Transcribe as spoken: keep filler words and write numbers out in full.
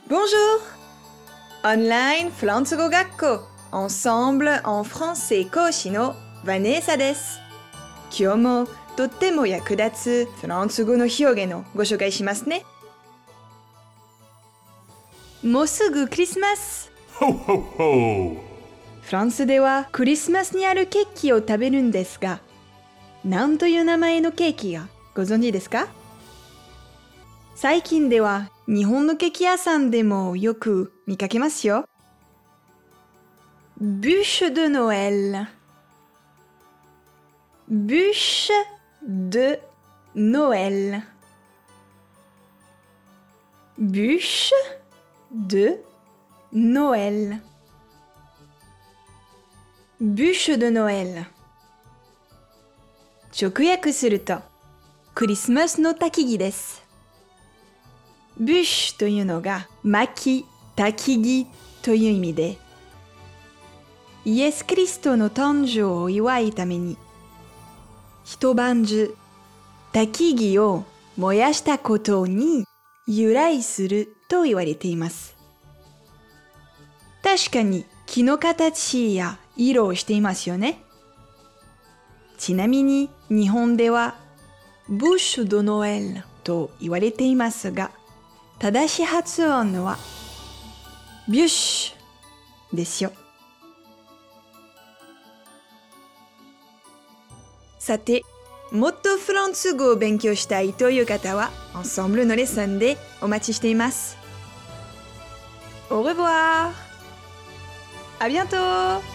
Bonjour! Online フランス語学校 Ensemble en français 講師のヴァネーサです。今日もとっても役立つフランス語の表現をご紹介しますね。もうすぐクリスマス。 Ho, ho, ho! フランスではクリスマスにあるケーキを食べるんですが、何という名前のケーキがご存知ですか？最近では日本のケーキ屋さんでもよく見かけますよ。Bûche de Noël. Bûche de Noël. Bûche de Noël. Bûche de Noël. 直訳すると、クリスマスの焚き木です。ブッシュというのが薪、焚き木という意味で、イエス・キリストの誕生を祝うために、一晩中、焚き木を燃やしたことに由来すると言われています。確かに木の形や色をしていますよね。ちなみに日本では、ブッシュ・ド・ノエルと言われていますが、正しい発音はビュッシュですよ。さて、もっとフランス語を勉強したいという方は、Ensembleのレッスンでお待ちしています。Au revoir! À bientôt!